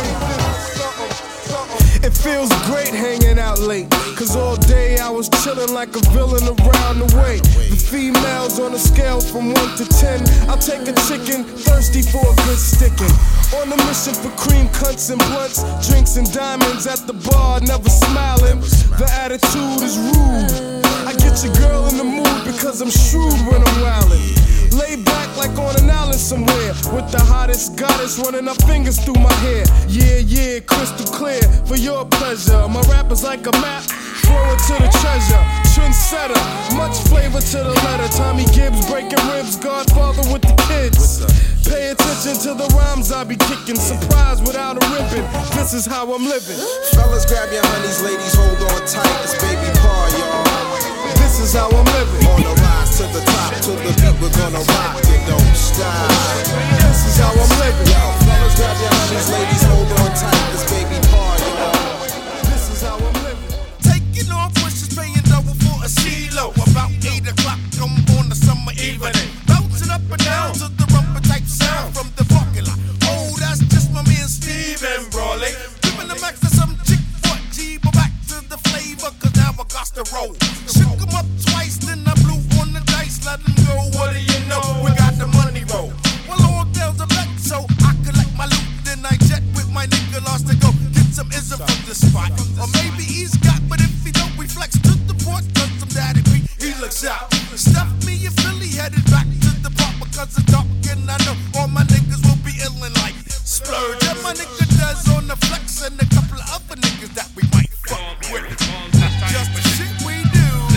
It feels great hanging out late, cause all day I was chilling like a villain around the way. The females on a scale from 1 to 10, I'll take a chicken, thirsty for a good sticking. On a mission for cream cunts and blunts, drinks and diamonds at the bar, never smiling. The attitude is rude. I get your girl in the mood because I'm shrewd when I'm wildin'. Lay back like on an island somewhere, with the hottest goddess running her fingers through my hair. Yeah, yeah, crystal clear for your pleasure. My rap is like a map, throw it to the treasure. Trendsetter, much flavor to the letter. Tommy Gibbs breaking ribs, Godfather with the kids. Pay attention to the rhymes I be kicking. Surprise without a ribbon, this is how I'm living. Fellas, grab your honeys, ladies, hold on tight. It's Baby Paul, y'all. This is how I'm living. On the rise to the top, to the beat, we're gonna rock it, don't stop. This is how I'm living. Yo, fellas, grab your honeys, ladies, hold on tight. It's Baby Paul, y'all. This is how I'm living. Taking off wishes, paying double for a CeeLo. About 8 o'clock, I'm on the summer evening. Bouncing up and down to the rumba type sound from the parking lot. Oh, that's just my man Steven Brawley. Giving the max to some chick for G, but back to the flavor, cause now I got to roll. Shook him up twice, then I blew on the dice, let him go. What do you know? We got the money roll. Well, all bells are back, so I collect my loot, then I jet with my nigga lost to go get some ism from the spot. Or maybe he's got, but if he don't, we flex to the port, cause some daddy beat, he looks out. Stuff me in Philly, headed back to the park because it's dark, and I know all my niggas will be illin' like Splurge. And my nigga does on the flex, and a couple of other niggas that we might fuck with. Just the shit we do.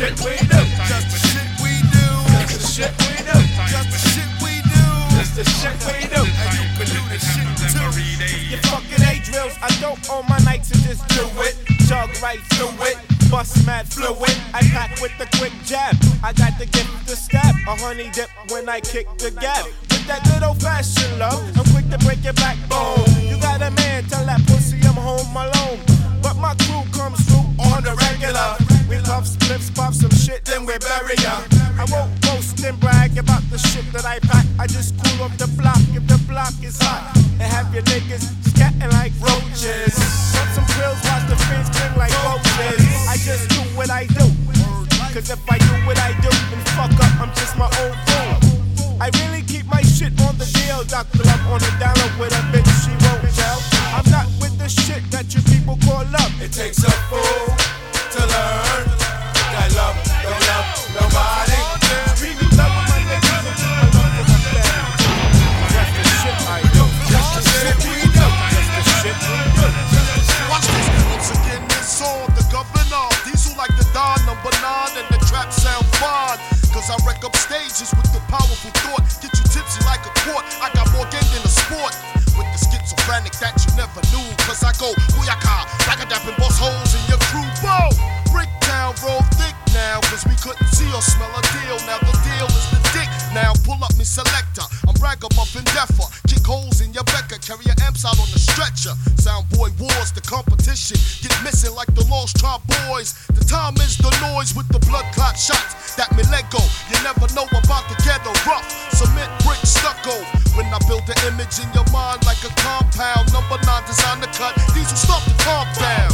shit we do. Just the shit we do. Just the shit we do. Just the shit we do. Just the shit we do. And you can do this shit too. You fucking A-drills, I don't own my nights and just do it. Jug right through it. Bust mad fluid, I pack with the quick jab. I got the gift to stab, a honey dip when I kick the gab. With that good old fashioned love, I'm quick to break your backbone. You got a man, tell that pussy I'm home alone. But my crew comes through on the regular. We love spliffs, pop some shit, then we bury ya. I won't boast and brag about the shit that I pack. I just cool up the block if the block is hot. And have your niggas scatting like roaches. Put some grills, watch the fins cling like roaches. I just do what I do. Cause if I do what I do and fuck up, I'm just my own fool. I really keep my shit on the deal. Dr. Love on the dollar with a bitch, she won't tell. I'm not with the shit that you people call love. It takes a fool to learn that love don't love nobody. Really love my niggas and I love for my family. That's the shit I do. That's the shit we do. That's the shit we do. Watch this. Once again, this on the governor. Diesel like the Don number 9 and the trap sound fine. Cause I wreck up stages with the powerful thought. Get you tipsy like a quart. I got more game than a sport. With the schizophrenic that you never knew. Cause I go booyaka, like a dapping boss holes in your crew. Bow! Bricktown, roll thick now. Cause we couldn't see or smell a deal. Now the deal is the dick. Now pull up me selector. I'm ragamuffin deffer. Kick holes in your Becker. Carry your amps out on the stretcher. Soundboy wars, the competition. Get missing like the Lost Tribe boys. The time is the noise with the blood clot shots. That me let go. You never know about the ghetto rough. Cement, brick, stucco. When I build the image in your mind like a compound. Number 9 design to cut. These will stop the calm down.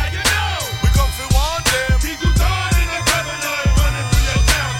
We come for one damn. People dying in the governor running through your town.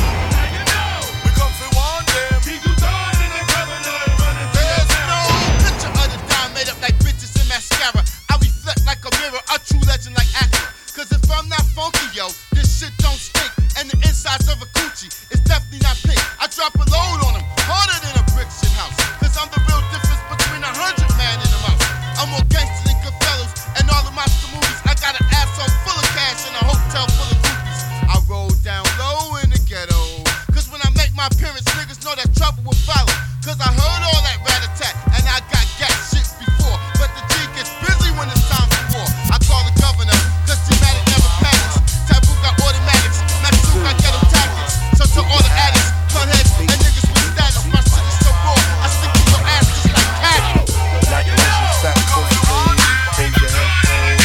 We come for one damn. People dying in the governor running through your town. There's no picture of the dime made up like bitches in mascara. I reflect like a mirror, a true legend like Acura. Cause if I'm not funky, yo, this shit don't stink. And the insides of a coochie is definitely not pink. I drop a load on them, harder than a brick shit house. Cause I'm the real difference between 100 man and a mouse. I'm more gangster than Goodfellas and all the monster movies. I got an asshole full of cash and a hotel full of groupies. I roll down low in the ghetto. Cause when I make my appearance, niggas know that trouble will follow. Cause I heard all that rat-a-tat and I got gas shit before. But the G gets busy when it's time for war. I call the governor, cause G-Matic never panics. Taboo got automatics, Matsu got ghetto tactics. So to all the addicts, buttheads, and niggas with status, my shit is so raw, I stick to your ass just like cattle. Like Asian saxophone, hold your head.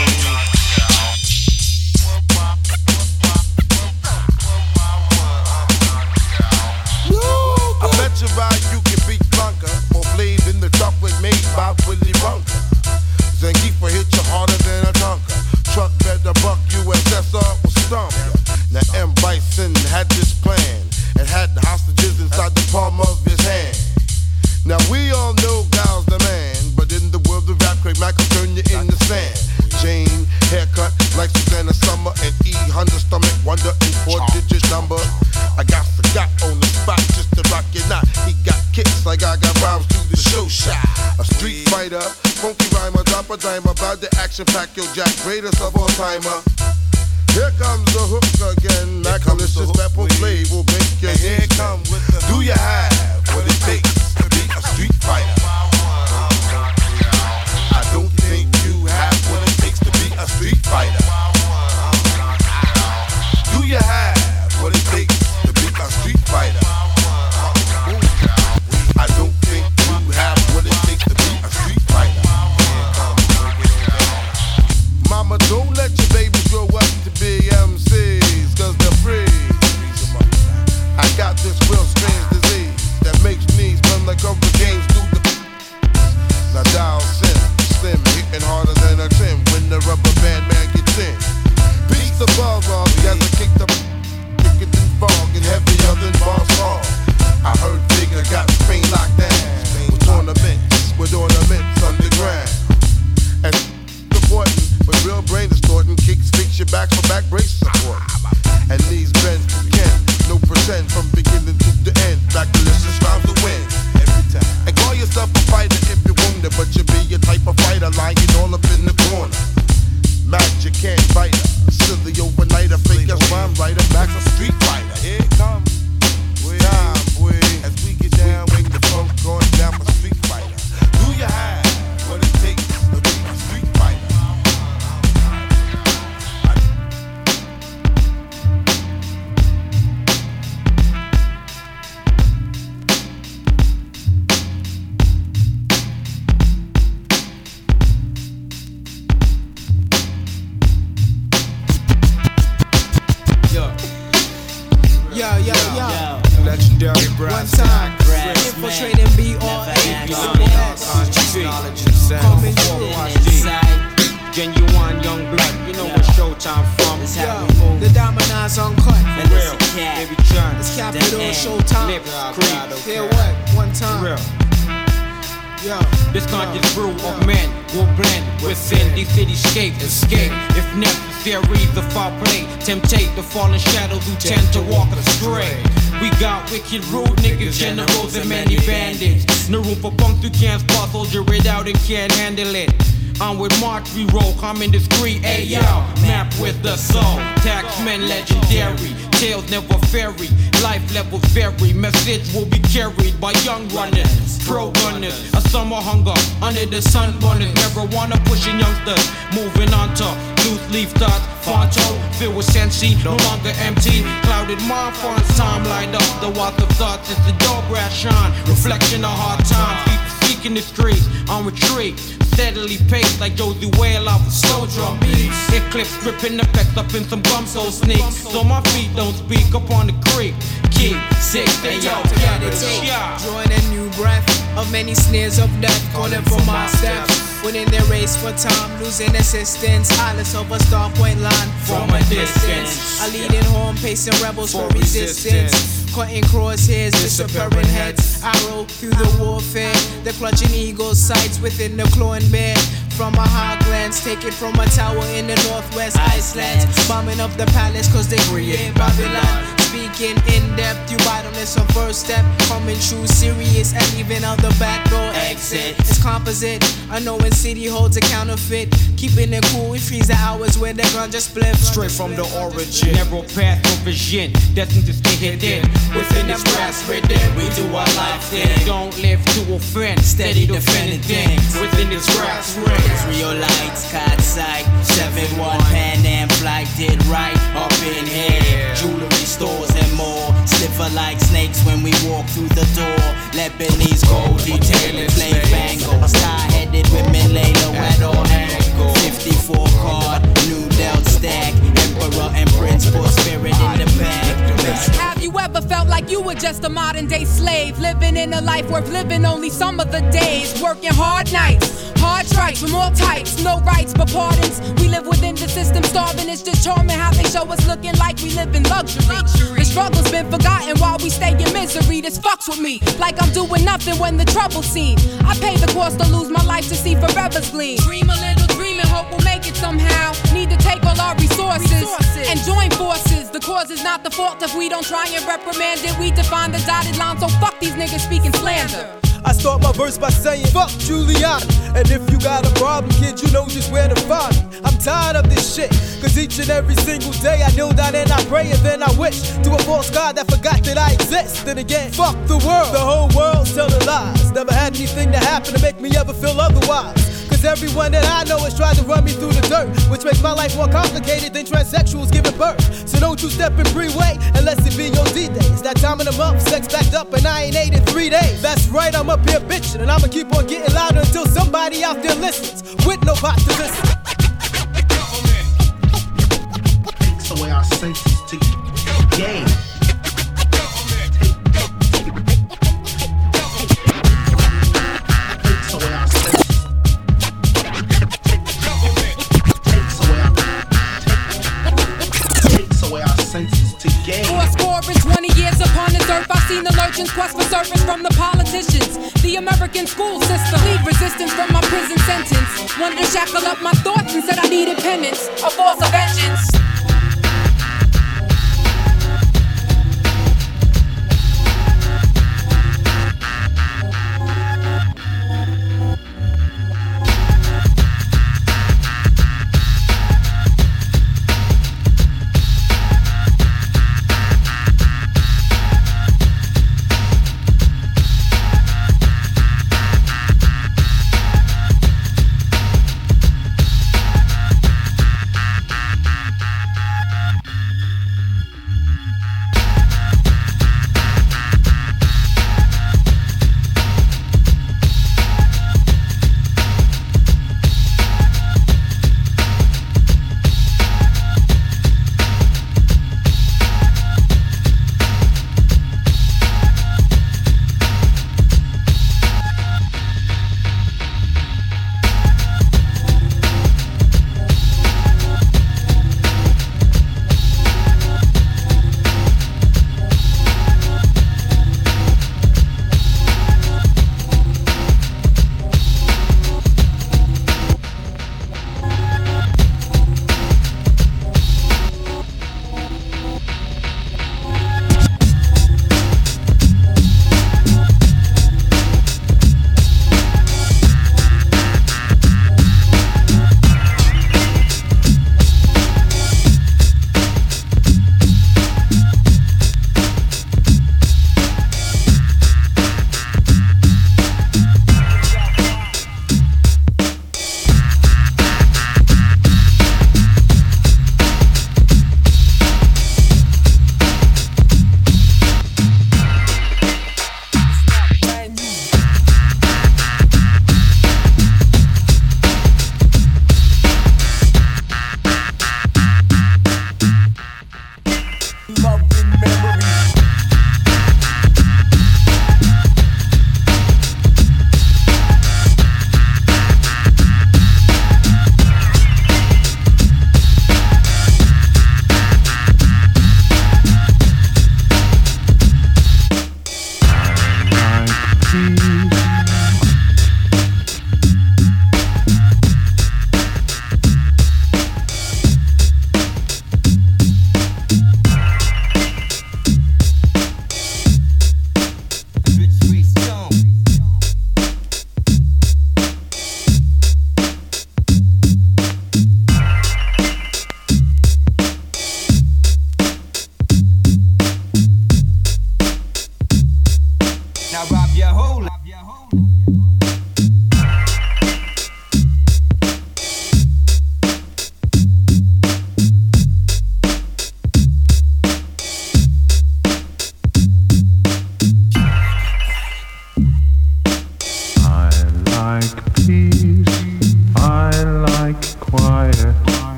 I bet you ride you can beat Blanca or Blade in the chocolate made by Willy Wonka. Zangief hit you harder than a Tonka. Truck better buck USSR will stomp ya. Now M. Bison had this plan and had the hostages inside the palm of his hand. Now we all know Gal's the man, but in the world of rap, Craig Mack will turn you in the sand. Jane, haircut like Susanna Summer, and E. Hunter stomach, wonder in 4-digit number. I got on the spot just to rock your knot. He got kicks like I got rhymes through the show shot. A street fighter, funky rhymer, drop a dime about the action pack, yo Jack, greatest of all timer. Here comes the hook again. Macalicious pepper flave will make your head come with the. Do you have what it takes to be a street fighter? I don't think you have what it takes to be a street fighter. Do you have what it takes to be a street fighter? I don't think you have what it takes to be a street fighter. Mama, don't let your babies grow up to be MCs, cause they're free. I got this real strange disease that makes knees run like hurricanes through the. Now dial slim, hitting harder than a Tim when the rubber band man gets in. Beats the ball off, as I kick the thicker than fog and heavier than boss hog. I heard Bigger got Spain locked down with ornaments underground. And supporting with real brain distorting kicks, fix your back for back brace support. And these bends can no pretend from beginning to the end. Back delicious rhymes to win every time. And call yourself a fighter if you're wounded, but you be your type of fighter lying all up in the corner. Magic can't fight her, silly overnighter, fake as rhyme Dirty One brass time, tack. infiltrating BRA. Coming through. Genuine young blood, you know where Showtime from. Yo, the Domino's uncut. For real, baby John. It's Capital Showtime. Hear what? One time. Real. Yo. This conscious brew of men will blend within these cityscape. Escape if necessary. The foul play, temptate the fallen shadows who tend to walk astray. We got wicked rude niggas, generals and many bandits. No room for punks who can't spot, soldier it out and can't handle it. I'm with March, we roll, I'm indiscreet, ayo. Map with the soul, taxmen legendary. Tales never vary, life levels vary. Message will be carried by young runners, pro gunners. A summer hunger under the sun burners. Marijuana pushing youngsters, moving on to loose leaf thoughts. Fonto, filled with sensi, no longer empty. Clouded mind, foreign time light up. The water of thoughts is the door brass shine. Reflection of hard times, keep seeking the streets on retreat. Steadily paced like Josie Whale off a slow drum beat. Eclipse gripping effects up in some gum so sneaks. So my feet don't speak up on the creek. Keep sick, they yo, Drawing a new breath of many snares of death. Calling for my steps. Winning their race for time, losing assistance. Eyeless of a star point line from a distance. I lead in home, pacing rebels for resistance. Cutting crosshairs, disappearing heads. Arrow through the warfare. The clutching eagle's sights within the clawing bear. From a high glance, take it from a tower in the northwest Iceland. Bombing up the palace cause they create Babylon. Speaking in depth, you bottomless on first step. Coming true, serious, and even out the back door exit. It's composite, a knowing city holds a counterfeit. Keeping it cool, we freeze the hours where the ganja split. Straight from the origin, narrow path of vision, destined to stay hidden. Within this grass rhythm, we do our life thing. Don't live to offend, steady defending things. Within this grass ring, Israelites, caught sight. 7-1 Pan Am flight did right up in here. Jewelry stores and more. Slipper like snakes when we walk through the door. Lebanese gold detailing flame bangles. Tie-headed women lay low at all angles. 54 card, new dealt stack. Emperor and prince put spirit in the bag. Have you ever felt like you were just a modern day slave? Living in a life worth living only some of the days. Working hard nights, hard strikes from all types. No rights but pardons. We live within the system, starving. It's just charming how they show us looking like we live in luxury. The struggle's been forgotten while we stay in misery. This fucks with me like I'm doing nothing when the trouble's seen. I pay the cost to lose my life to see forever's gleam. Dream a little dream and hope we'll make it somehow. Need to take all our resources and join forces. The cause is not the fault if we don't try and reprimand it. We define the dotted line, so fuck these niggas speaking slander. I start my verse by saying, fuck Giuliani. And if you got a problem, kid, you know just where to find me. I'm tired of this shit, cause each and every single day I kneel down and I pray and then I wish to a false God that forgot that I exist. Then again, fuck the world, the whole world's telling lies. Never had anything to happen to make me ever feel otherwise. Cause everyone that I know has tried to run me through the dirt, which makes my life more complicated than transsexuals giving birth. So don't you step in freeway unless it be your D-Day. It's that time of the month, sex backed up and I ain't ate in 3 days. That's right, I'm up here bitching and I'ma keep on getting louder until somebody out there listens with no pot to listen. Takes away our senses to game. For 20 years upon this earth, I've seen the lurchings quest for service from the politicians. The American school system, lead resistance from my prison sentence. Wanted to shackle up my thoughts and said I needed penance, a force of vengeance.